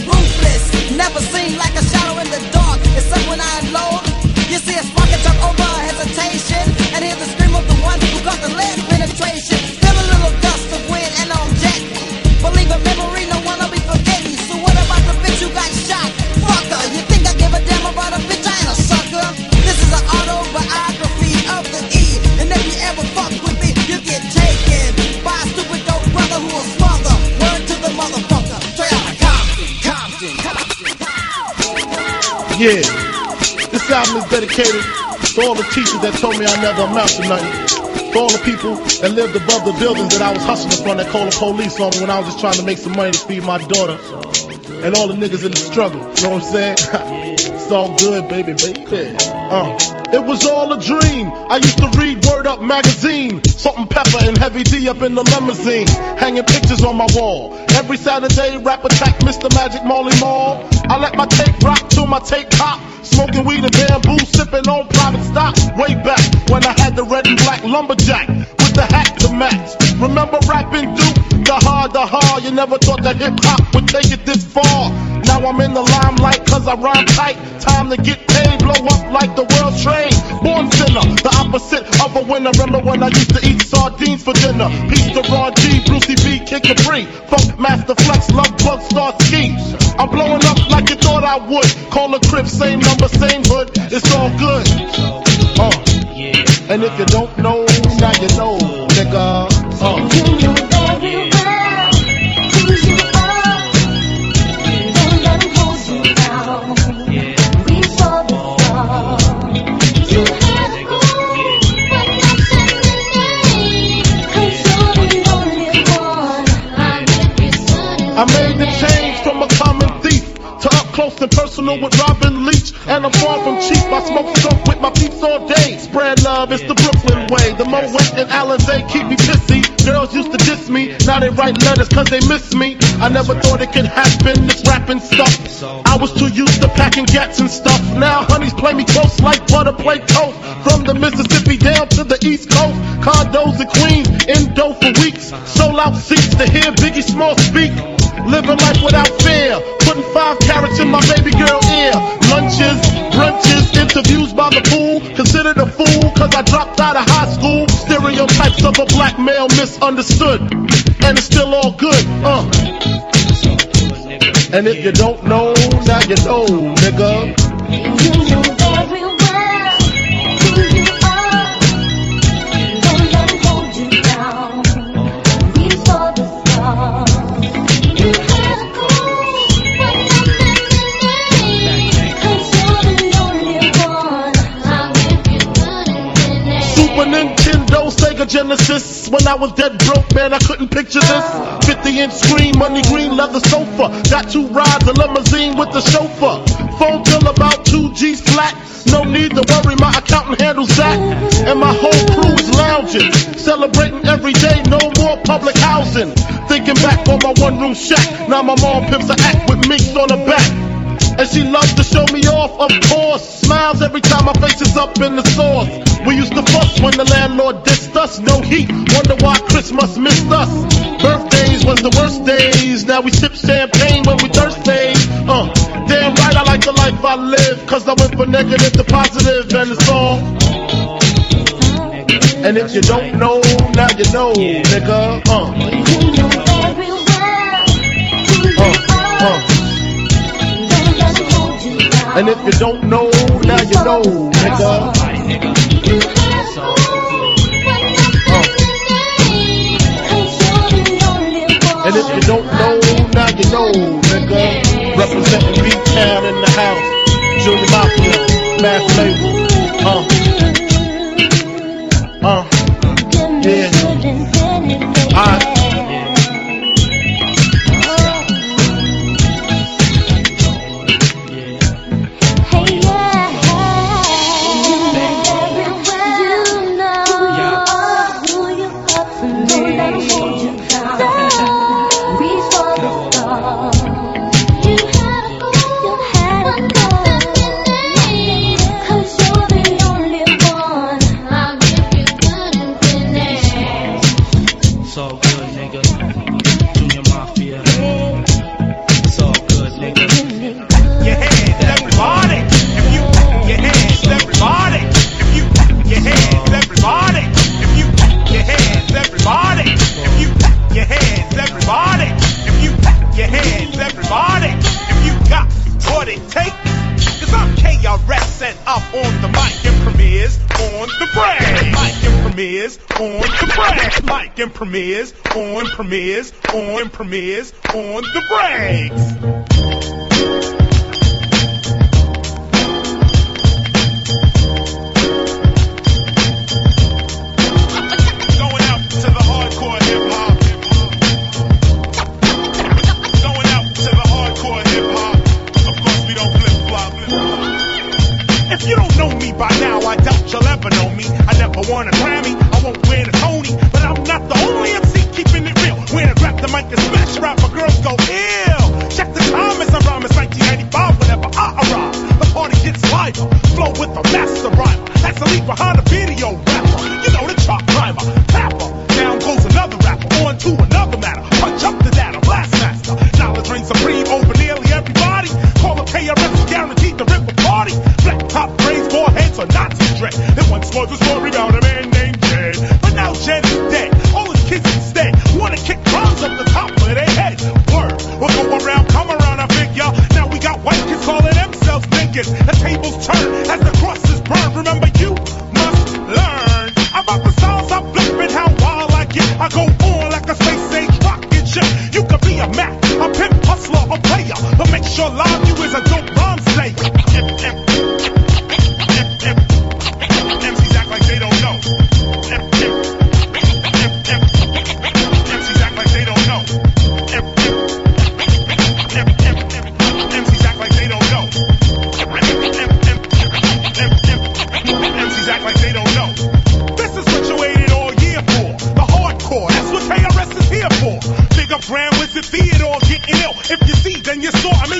Speaker 14: Never seen like a shadow in the dark, except when I unload. You see a spark and jump over hesitation, and hear the scream of the one who got the lead penetration. Feel a little gust of wind and I'm jet. Believe a memory, no one will be forgetting. So what about the bitch who got shot? Fucker, you think I give a damn about a bitch? I ain't a sucker. This is an autobiography of the E, and if you ever fuck with me, you get taken by a stupid dope brother who will smother. Word to the motherfucker, straight out of Compton, Compton, Compton.
Speaker 17: Yeah, this album is dedicated to all the teachers that told me I never amount to nothing. For all the people that lived above the buildings that I was hustling from, that called the police on me when I was just trying to make some money to feed my daughter. And all the niggas in the struggle, you know what I'm saying? It's all good, baby, baby. Uh. It was all a dream. I used to read Word Up magazine, Salt and Pepper and Heavy D up in the limousine, hanging pictures on my wall. Every Saturday, rap attack, Mister Magic Marley Marl. I let my tape rock till my tape pop. Smoking weed and bamboo, sipping on private stock. Way back when I had the red and black lumberjack with the hat to match. Remember rapping Duke? The hard, the hard. You never thought that hip hop would take it this far. Now I'm in the limelight cause I rhyme tight. Time to get paid, blow up like the world trade. Born sinner, the opposite of a winner. Remember when I used to eat sardines for dinner? Peace to Ron G, Brucey B, Kid Capri, Funk Master Flex, Love Bug, Star Ski. I'm blowing up like you thought I would. Call a crib, same number, same hood. It's all good. Uh. And if you don't know, now you know, nigga. Uh. I made the change from a common thief to up close and personal with Robin Leach. And I'm far from cheap, I smoke skunk with my peeps all day. Spread love, it's the Brooklyn way. The Moet and Alizé keep me pissy. Girls used to diss me, now they write letters cause they miss me. I never thought it could happen, this rapping stuff. I was too used to packing gats and stuff. Now honeys play me close like butter play toast. From the Mississippi down to the East Coast. Condos in Queens, in dough for weeks. Sold out seats to hear Biggie Small speak. Living life without fear, putting five carats in my baby girl ear. Lunches, brunches, interviews by the pool. Considered a fool cause I dropped out of high school. Stereotypes of a black male misunderstood. And it's still all good, uh. And if you don't know, now you know, nigga. You know very well who you are. Don't let them hold you down. Reach for the stars. Nintendo, Sega Genesis. When I was dead broke, man, I couldn't picture this. fifty inch screen, money green leather sofa. Got two rides, a limousine with the chauffeur. Phone bill about two G's flat. No need to worry, my accountant handles that. And my whole crew is lounging, celebrating every day, no more public housing. Thinking back on my one room shack. Now my mom pimps a act with minks on her back. And she loves to show me off, of course. Smiles every time my face is up in the sauce. We used to fuss when the landlord dissed us. No heat, wonder why Christmas missed us. Birthdays was the worst days. Now we sip champagne when we thirsty. Uh, damn right I like the life I live. Cause I went from negative to positive and it's all. And if you don't know, now you know, nigga. Uh. Uh, uh. And if you don't know, now you know, nigga. Uh. And if you don't know, now you know, nigga. Representing B-Town in the house. Junior Mafia, Mass Label. Uh. Uh. Yeah. Alright. And premieres on premieres on premieres on the breaks.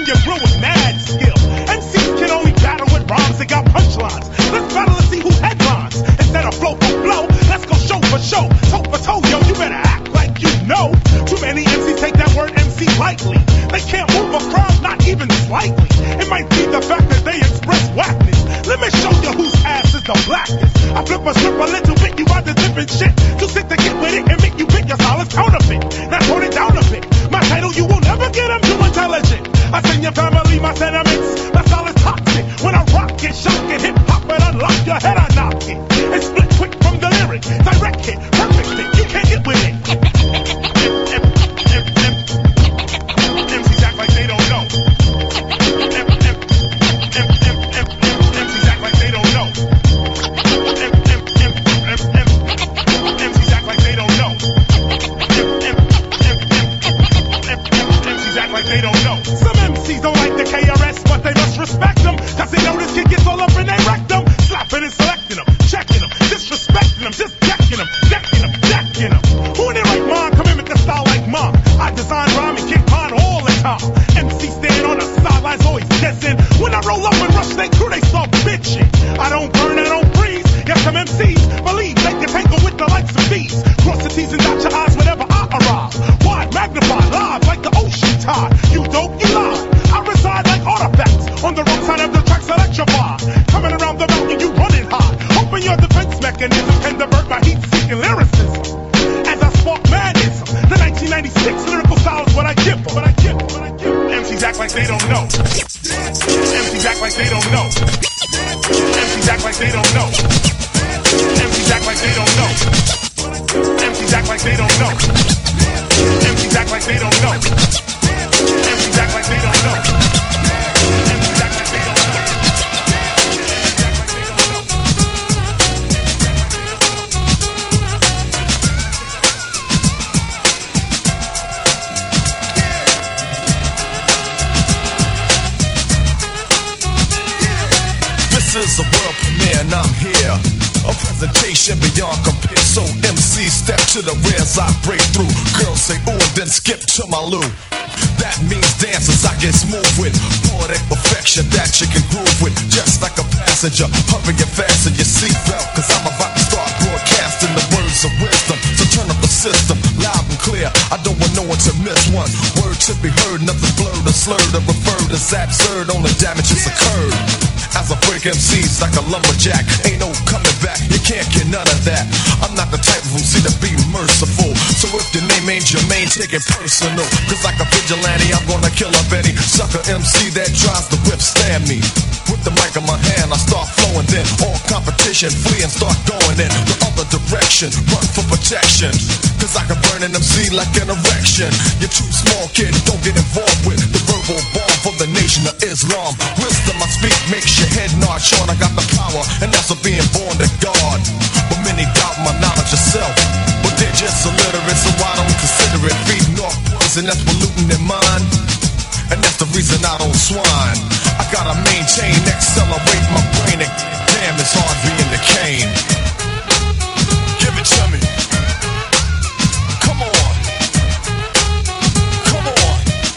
Speaker 18: get real with mad skill. M Cs can only battle with rhymes that got punchlines. Let's battle to see who headlines. Instead of flow for flow, let's go show for show. Toe for toe, yo, you better act like you know. Too many M Cs take that word M C lightly. They can't move a crowd, not even slightly. It might be the fact that they express whackness. Let me show you whose ass is the blackest. I flip a strip a little bit, you rather different shit. You sit to get with it and make you pick your solid counterfeit. Now tone it down a bit. My title, you will never get, I'm too intelligent. I send your family my sentiments. My style is toxic. When I rock it, shock it, hip hop and unlock your head, I knock it. And split quick from the lyric. Direct hit, perfect hit, you can't get with it. M Cs act like they don't know. M Cs act like they don't know. M Cs act like they don't know. M Cs act like they don't know. Some M Cs don't like the K R S, but they must respect them. Cause they know this kid gets all up in their rectum. Slapping and selecting them, checking them, disrespecting them, just decking them, decking them, decking them. Who in their right mind come in with the style like mine? I design rhyme and kick mine all the time. M C stand on the sidelines, always guessing. When I roll up and rush they crew, they start bitching. I don't burn, I don't freeze. Yes, some M Cs believe they can tangle with the likes of these. Cross the T's and dot your I's whenever I arrive. Wide, magnified, live like the ocean tide. You dope, you lie. I reside like artifacts on the wrong side of the tracks electrified. Coming around the mountain, you running high. Hoping your defense mechanism can divert my heat-seeking lyricism. As I spark madness, the nineteen ninety-six lyrical style is what I give them. What I give them. What I give them. M Cs act like they don't know. M Cs act like they don't know. M Cs act like they don't know. M Cs act like they don't know. M Cs act like they don't know. M Cs act like they don't know. M Cs act like they don't know. M Cs act like they don't know.
Speaker 19: This is a world premiere and I'm here. A presentation beyond compare. So M C step to the rear as I break through. Girls say ooh and then skip to my loo. That means dancers I get smooth with. Poetic perfection that you can groove with. Just like a passenger, hurry and fasten your seatbelt. Cause I'm about to start broadcasting the words of wisdom. So turn up the system, loud and clear. I don't want no one to miss one. Word to be heard, nothing blurred or slurred or referred as absurd. Only damages occurred. As I break M Cs like a lumberjack, ain't no coming back, you can't get none of that. I'm not the type of M C to be merciful. So if your name ain't Jermaine, take it personal. Cause like a vigilante, I'm gonna kill up any sucker M C that tries to withstand me. With the mic in my hand, I start flowing, then all competition flee and start going in the other direction. Run for protection, cause I can burn an M C like an erection. You're too small, kid, don't get involved with the verbal bomb for the nation of Islam. Wisdom I speak makes your head nod. Sean, I got the power, and that's of being born to God. But many doubt my knowledge of self, but they're just illiterate, so I don't consider it. Feeding off poison that's polluting their mind, and that's the reason I don't swine. I gotta maintain, accelerate my brain, and damn, it's hard being the cane. Give it to me. Come on. Come on.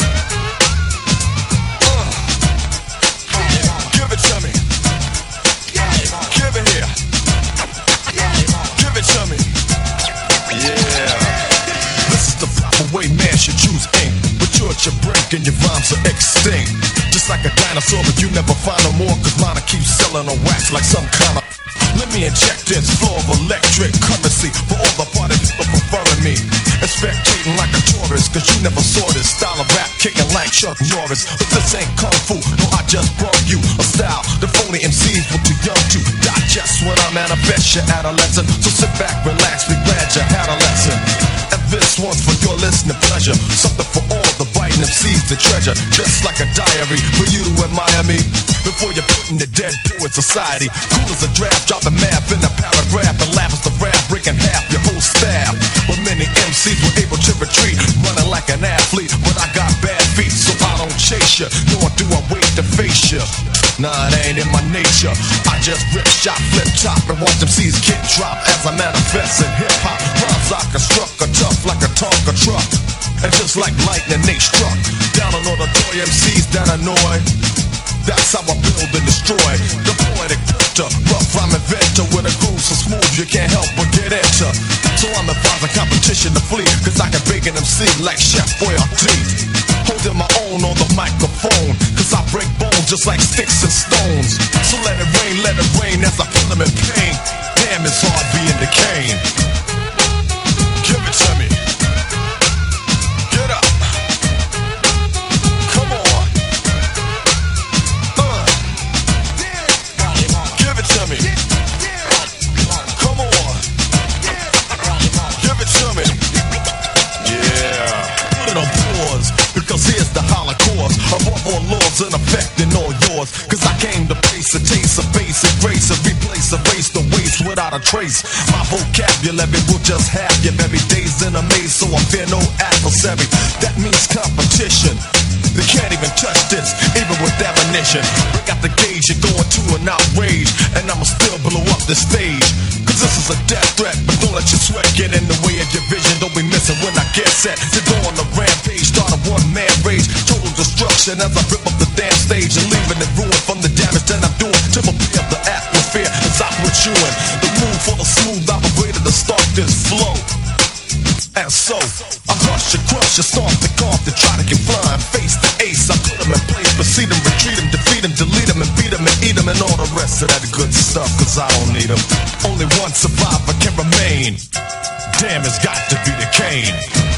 Speaker 19: Uh. Give it to me. Give it here. Give it to me. Yeah. This is the proper way man should choose ink. But you're at your brink and your rhymes are extinct. Just like a dinosaur, but you never find no more. Cause mine keeps selling on wax like some kind of. Let me inject this flow of electric currency for all the party people preferring me. And spectating like a tourist, cause you never saw this style of rap kicking like Chuck Norris. But this ain't kung fu, no, I just brought you a style the phony M Cs were too young to digest when I manifest your adolescent. So sit back, relax, be glad you had a lesson. And this one's for your listening pleasure. Something for all the biting M Cs to treasure. Just like a diary for you to admire me. Before you're putting the dead poet society. Cool as a draft, drop the math in a paragraph. And laugh as the rap, breaking half your whole staff. But many M Cs were able to retreat, running like an athlete. But I got bad feet, so I don't chase you, nor do I wait to face you. Nah, it ain't in my nature. I just rip, shot, flip, top, and watch them C's get dropped as I manifest in hip-hop. Rhymes I construct are tough like a Tonka truck. And just like lightning, they struck down on all the toy M Cs that annoy. That's how I build and destroy. The poetic printer, rough rhyme inventor with a groove so smooth you can't help but get into. So I'm advising competition to flee, cause I can bake an M C like Chef Boyardee. Holding my own on the microphone, cause I break bones just like sticks and stones. So let it rain, let it rain as I feel them in pain. Damn, it's hard being the cane. Give it to me. Get up. Come on. Uh. Give it to me. Come on. Give it to me. Yeah. Put it on pause, because here's the holocaust of all laws in effect in all yours. Cause I came to place a taste of basic grace and replace, erase the waste without a trace. My vocabulary will just have your very days in a maze, so I fear no adversary. That means competition. They can't even touch this, even with ammunition. Break out the gauge, you're going to an outrage, and I'ma still blow up the stage. Cause this is a death threat, but don't let your sweat get in the way of your vision. Don't be missing when I get set to go on the rampage. Start a one-man rage, total destruction as I rip up the damn stage and leaving it ruined from the damage that I'm doing. To prepare the atmosphere as I put you in the mood for the smooth operator to start this flow. And so, I rush and crush and stomp the golf to try to get flying. Face the ace, I put them in place, proceed them, retreat them, defeat them, delete them, and beat them, and eat them, and all the rest of that good stuff, cause I don't need them. Only one survivor can remain. Damn, it's got to be the Kane.